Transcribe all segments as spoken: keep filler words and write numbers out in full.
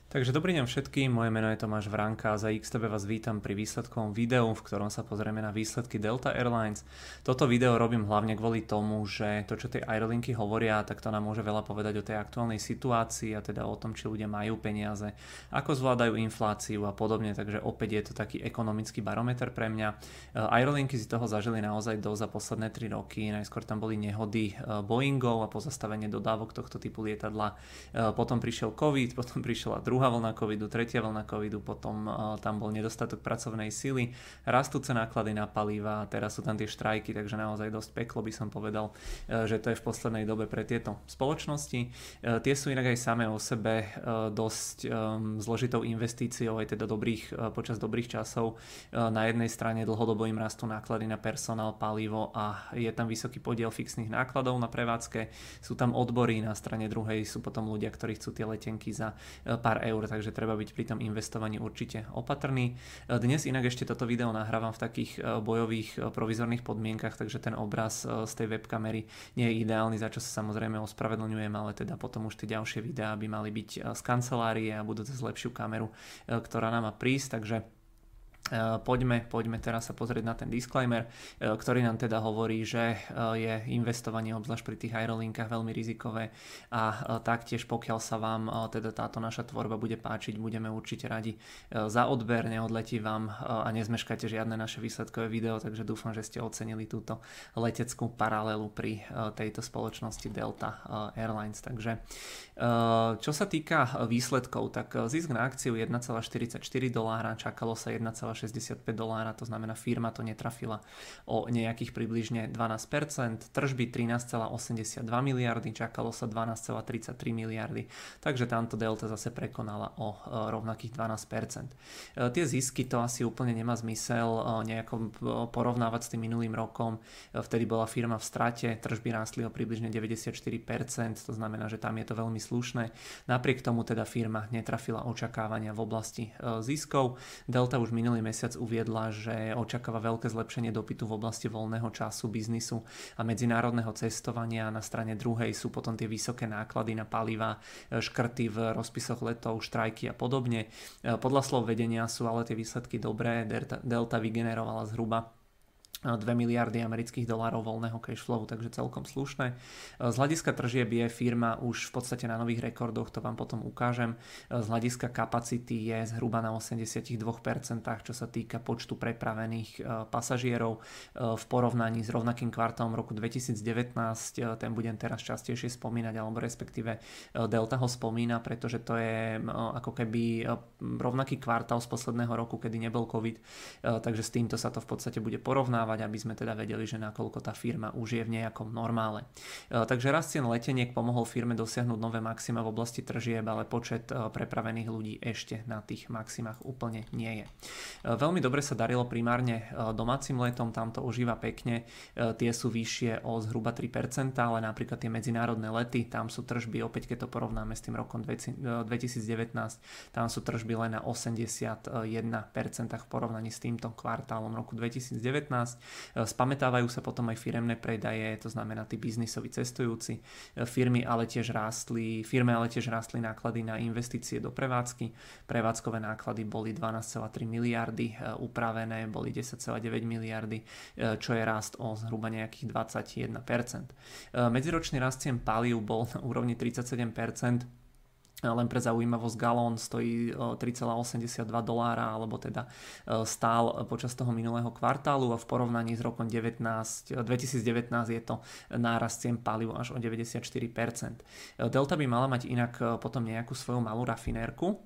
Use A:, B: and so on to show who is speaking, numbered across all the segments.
A: Takže dobrý deň všetkým, moje meno je Tomáš Vránka a za iks té bé vás vítam pri výsledkovom videu, v ktorom sa pozrieme na výsledky Delta Airlines. Toto video robím hlavne kvôli tomu, že to, čo tie aerolinky hovoria, tak to nám môže veľa povedať o tej aktuálnej situácii a teda o tom, či ľudia majú peniaze, ako zvládajú infláciu a podobne, takže opäť je to taký ekonomický barometer pre mňa. Aerolinky si toho zažili naozaj dosť za posledné tri roky, najskôr tam boli nehody Boeingov a pozastavenie dodávok tohto typu lietadla, potom prišiel COVID, potom prišla druhá vlna covidu, tretia vlna covidu, potom uh, tam bol nedostatok pracovnej sily, rastúce náklady na paliva, teraz sú tam tie štrajky, takže naozaj dosť peklo by som povedal, uh, že to je v poslednej dobe pre tieto spoločnosti. Uh, tie sú inak aj samé o sebe uh, dosť um, zložitou investíciou, aj teda dobrých, uh, počas dobrých časov. Uh, na jednej strane dlhodobo im rastú náklady na personál, palivo a je tam vysoký podiel fixných nákladov na prevádzke. Sú tam odbory, na strane druhej sú potom ľudia, ktorí chcú tie letenky za uh, pár eur, takže treba byť pri tom investovaní určite opatrný. Dnes inak ešte toto video nahrávam v takých bojových provizorných podmienkach, takže ten obraz z tej webkamery nie je ideálny, za čo sa samozrejme ospravedlňujem, ale teda potom už tie ďalšie videá by mali byť z kancelárie a budú cez lepšiu kameru, ktorá nám má prísť, takže Poďme, poďme teraz sa pozrieť na ten disclaimer, ktorý nám teda hovorí, že je investovanie obzvlášť pri tých aerolinkách veľmi rizikové a taktiež pokiaľ sa vám teda táto naša tvorba bude páčiť, budeme určite radi za odber, neodletí vám a nezmeškáte žiadne naše výsledkové video, takže dúfam, že ste ocenili túto leteckú paralelu pri tejto spoločnosti Delta Airlines. Takže čo sa týka výsledkov, tak zisk na akciu jeden celá štyridsaťštyri dolára, čakalo sa jeden celá šesťdesiatpäť dolára, to znamená firma to netrafila o nejakých približne dvanásť percent, tržby trinásť celá osemdesiatdva miliardy, čakalo sa dvanásť celá tridsaťtri miliardy, takže tamto Delta zase prekonala o rovnakých dvanásť percent. Tie zisky to asi úplne nemá zmysel nejako porovnávať s tým minulým rokom, vtedy bola firma v strate, tržby rástli o približne deväťdesiatštyri percent, to znamená, že tam je to veľmi slušné, napriek tomu teda firma netrafila očakávania v oblasti ziskov. Delta už minulý mesiac uviedla, že očakáva veľké zlepšenie dopytu v oblasti voľného času, biznisu a medzinárodného cestovania. Na strane druhej sú potom tie vysoké náklady na paliva, škrty v rozpisoch letov, štrajky a podobne. Podľa slov vedenia sú ale tie výsledky dobré. Delta, Delta vygenerovala zhruba dve miliardy amerických dolárov voľného cash flow, takže celkom slušné. Z hľadiska tržieb je firma už v podstate na nových rekordoch, to vám potom ukážem. Z hľadiska kapacity je zhruba na osemdesiatdva percent, čo sa týka počtu prepravených pasažierov v porovnaní s rovnakým kvartálom roku dvetisícdevätnásť. Ten budem teraz častejšie spomínať, alebo respektíve Delta ho spomína, pretože to je ako keby rovnaký kvartál z posledného roku, kedy nebol COVID, takže s týmto sa to v podstate bude porovnávať, aby sme teda vedeli, že nakoľko tá firma už je v nejakom normále. Takže rast cien leteniek pomohol firme dosiahnuť nové maxima v oblasti tržieb, ale počet prepravených ľudí ešte na tých maximách úplne nie je. Veľmi dobre sa darilo primárne domácim letom, tam to užíva pekne, tie sú vyššie o zhruba tri percent, ale napríklad tie medzinárodné lety, tam sú tržby, opäť keď to porovnáme s tým rokom dvetisícdevätnásť, tam sú tržby len na osemdesiatjeden percent v porovnaní s týmto kvartálom roku dvetisícdevätnásť. Spamätávajú sa potom aj firemné predaje, to znamená tí biznisoví cestujúci. Firmy ale tiež rástli, firme ale tiež rástli náklady na investície do prevádzky. Prevádzkové náklady boli dvanásť celá tri miliardy, upravené boli desať celá deväť miliardy, čo je rast o zhruba nejakých dvadsaťjeden percent. Medziročný rast cien palív bol na úrovni tridsaťsedem percent. Len pre zaujímavosť galón stojí tri celá osemdesiatdva dolára, alebo teda stál počas toho minulého kvartálu a v porovnaní s rokom dvetisícdevätnásť je to nárast cien palív až o deväťdesiatštyri percent. Delta by mala mať inak potom nejakú svoju malú rafinérku,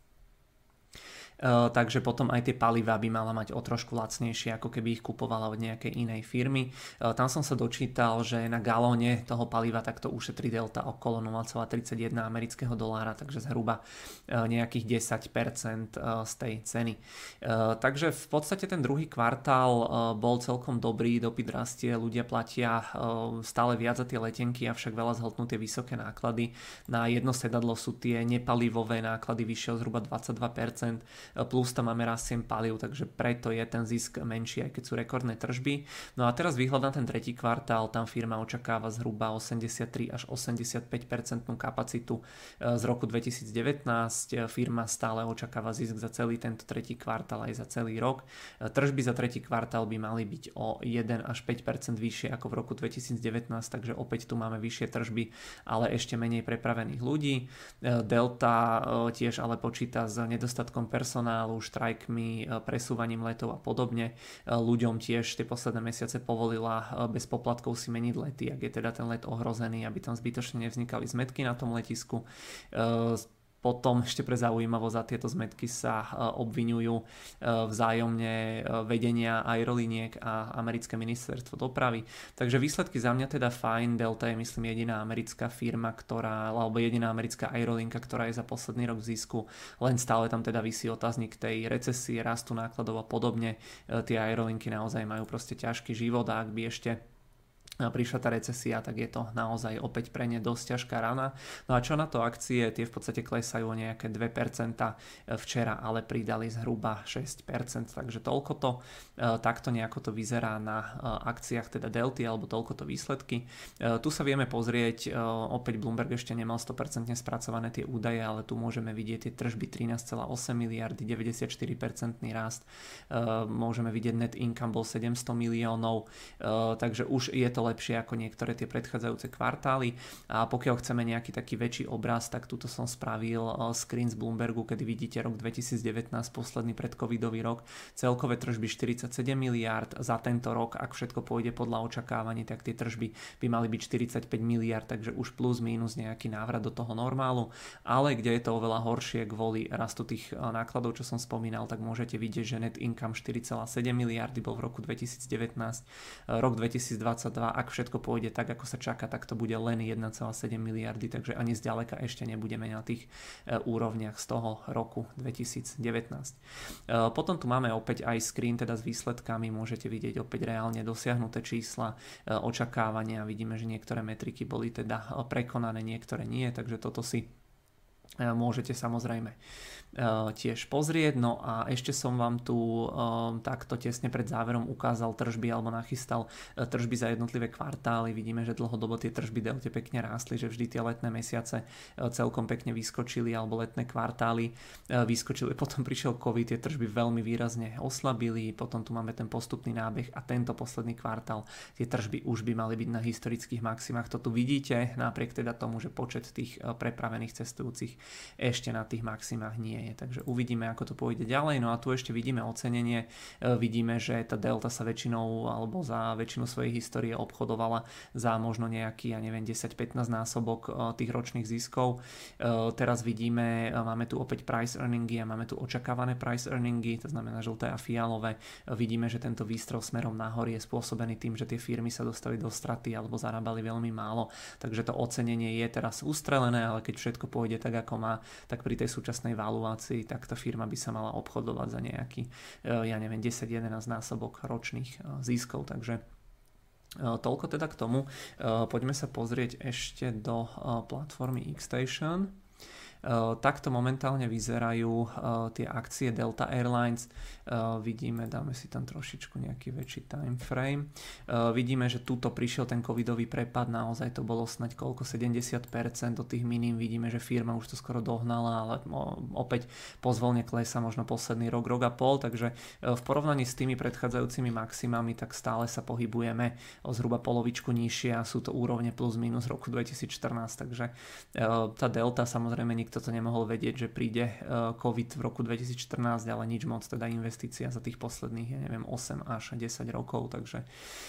A: Uh, takže potom aj tie palivá by mala mať o trošku lacnejšie, ako keby ich kupovala od nejakej inej firmy. Uh, tam som sa dočítal, že na galóne toho paliva takto ušetrí Delta okolo nula celá tridsaťjeden amerického dolára, takže zhruba uh, nejakých desať percent uh, z tej ceny. Uh, takže v podstate ten druhý kvartál uh, bol celkom dobrý, dopyt rastie, ľudia platia uh, stále viac za tie letenky, avšak veľa zhltnú tie vysoké náklady. Na jedno sedadlo sú tie nepalivové náklady vyššie o zhruba dvadsaťdva percent. plus tam máme rast cien palív, takže preto je ten zisk menší, aj keď sú rekordné tržby. No a teraz výhľad na ten tretí kvartál, tam firma očakáva zhruba osemdesiattri až osemdesiatpäť percent kapacitu z roku dvetisícdevätnásť. Firma stále očakáva zisk za celý tento tretí kvartál aj za celý rok. Tržby za tretí kvartál by mali byť o jeden až päť percent vyššie ako v roku dvetisícdevätnásť, takže opäť tu máme vyššie tržby, ale ešte menej prepravených ľudí. Delta tiež ale počíta s nedostatkom personálu, štrajkmi, presúvaním letov a podobne. Ľuďom tiež tie posledné mesiace povolila bez poplatkov si meniť lety, ak je teda ten let ohrozený, aby tam zbytočne nevznikali zmätky na tom letisku. Potom ešte pre zaujímavosť za tieto zmätky sa obviňujú vzájomne vedenia aerolíniek a americké ministerstvo dopravy. Takže výsledky za mňa teda fajn. Delta je myslím jediná americká firma, ktorá, alebo jediná americká aerolínka, ktorá je za posledný rok v zisku. Len stále tam teda visí otáznik tej recesie, rastu nákladov a podobne. Tie aerolínky naozaj majú proste ťažký život a ak by ešte prišla tá recesia, tak je to naozaj opäť pre ne dosť ťažká rana. No a čo na to akcie? Tie v podstate klesajú o nejaké dve percentá, včera ale pridali zhruba šesť percent, takže toľko to, takto nejako to vyzerá na akciách teda Delty, alebo toľko to výsledky. Tu sa vieme pozrieť, opäť Bloomberg ešte nemal sto percent spracované tie údaje, ale tu môžeme vidieť tie tržby trinásť celá osem miliardy, deväťdesiatštyri percent rast, môžeme vidieť net income bol sedemsto miliónov, takže už je to lepšie ako niektoré tie predchádzajúce kvartály. A pokiaľ chceme nejaký taký väčší obraz, tak tuto som spravil screen z Bloombergu, kedy vidíte rok dvetisícdevätnásť, posledný predcovidový rok. Celkové tržby štyridsaťsedem miliárd. Za tento rok, ak všetko pôjde podľa očakávaní, tak tie tržby by mali byť štyridsaťpäť miliárd, takže už plus mínus nejaký návrat do toho normálu. Ale kde je to oveľa horšie kvôli rastu tých nákladov, čo som spomínal, tak môžete vidieť, že net income štyri celá sedem miliardy bol v roku dvetisícdevätnásť. Rok dvetisícdvadsaťdva, ak všetko pôjde tak, ako sa čaká, tak to bude len jeden celá sedem miliardy, takže ani zďaleka ešte nebudeme na tých úrovniach z toho roku dvetisícdevätnásť. Potom tu máme opäť aj screen teda s výsledkami, môžete vidieť opäť reálne dosiahnuté čísla, očakávania, vidíme, že niektoré metriky boli teda prekonané, niektoré nie, takže toto si môžete samozrejme tiež pozrieť. No a ešte som vám tu um, takto tesne pred záverom ukázal tržby alebo nachystal tržby za jednotlivé kvartály. Vidíme, že dlhodobo tie tržby Delte pekne rástli, že vždy tie letné mesiace celkom pekne vyskočili alebo letné kvartály vyskočili. Potom prišiel COVID, tie tržby veľmi výrazne oslabili, potom tu máme ten postupný nábeh a tento posledný kvartál tie tržby už by mali byť na historických maximách. To tu vidíte, napriek teda tomu, že počet tých prepravených cestujúcich ešte na tých maximách nie je. Takže uvidíme, ako to pôjde ďalej. No a tu ešte vidíme ocenenie. Vidíme, že tá Delta sa väčšinou alebo za väčšinu svojej histórie obchodovala za možno nejaký, ja neviem, desať pätnásť násobok tých ročných ziskov. Teraz vidíme, máme tu opäť price earningy a máme tu očakávané price earningy, to znamená žlté a fialové. Vidíme, že tento výstrel smerom nahor je spôsobený tým, že tie firmy sa dostali do straty alebo zarábali veľmi málo. Takže to ocenenie je teraz ustrelené, ale keď všetko pôjde tak, ako má, tak pri tej súčasnej valuácii, tak tá firma by sa mala obchodovať za nejaký, ja neviem, desať jedenásť násobok ročných ziskov, takže toľko teda k tomu. Poďme sa pozrieť ešte do platformy Xstation. Takto momentálne vyzerajú tie akcie Delta Airlines. Vidíme, dáme si tam trošičku nejaký väčší time frame. Vidíme, že tuto prišiel ten covidový prepad, naozaj to bolo snať koľko, sedemdesiat percent do tých minim. Vidíme, že firma už to skoro dohnala, ale opäť pozvolne klesa možno posledný rok, rok a pol, takže v porovnaní s tými predchádzajúcimi maximami, tak stále sa pohybujeme o zhruba polovičku nižšie a sú to úrovne plus minus roku dvetisícštrnásť, takže tá Delta samozrejme nikto to nemohol vedieť, že príde COVID v roku dvetisícštrnásť, ale nič moc, teda investícia za tých posledných, ja neviem, osem až desať rokov, takže,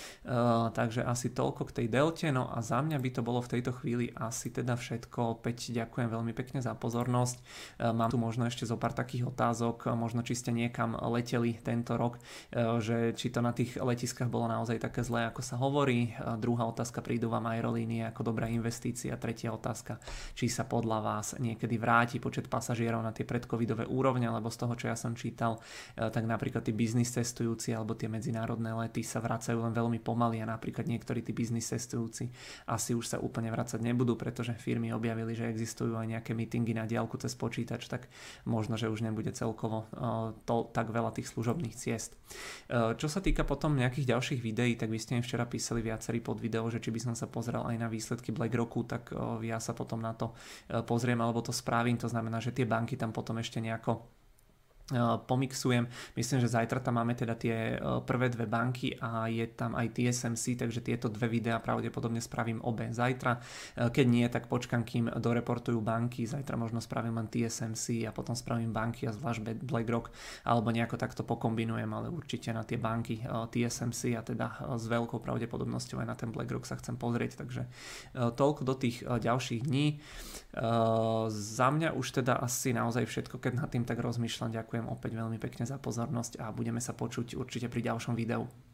A: uh, takže asi toľko k tej Delte. No a za mňa by to bolo v tejto chvíli asi teda všetko. Opäť ďakujem veľmi pekne za pozornosť. Uh, mám tu možno ešte zo pár takých otázok, možno či ste niekam leteli tento rok, uh, že či to na tých letiskách bolo naozaj také zlé, ako sa hovorí. Uh, druhá otázka, prídu vám aerolínie ako dobrá investícia. Tretia otázka, či sa podľa vás niekedy kedy vráti počet pasažierov na tie predcovidové úrovne, lebo z toho, čo ja som čítal, tak napríklad tí biznis cestujúci alebo tie medzinárodné lety sa vracajú len veľmi pomaly a napríklad niektorí tí biznis cestujúci asi už sa úplne vracať nebudú, pretože firmy objavili, že existujú aj nejaké meetingy na diaľku cez počítač, tak možno, že už nebude celkovo to tak veľa tých služobných ciest. Čo sa týka potom nejakých ďalších videí, tak vy ste mi včera písali viacerí pod video, že či by som sa pozrel aj na výsledky BlackRocku, tak ja sa potom na to pozriem alebo to spravím, to znamená, že tie banky tam potom ešte nejako pomixujem. Myslím, že zajtra tam máme teda tie prvé dve banky a je tam aj T S M C, takže tieto dve videá pravdepodobne spravím obe zajtra. Keď nie, tak počkam, kým doreportujú banky. Zajtra možno spravím len T S M C a potom spravím banky a zvlášť BlackRock, alebo nejako takto pokombinujem, ale určite na tie banky T S M C a teda s veľkou pravdepodobnosťou aj na ten BlackRock sa chcem pozrieť, takže toľko do tých ďalších dní. Za mňa už teda asi naozaj všetko, keď nad tým tak rozmýšľam. Ďakujem opäť veľmi pekne za pozornosť a budeme sa počuť určite pri ďalšom videu.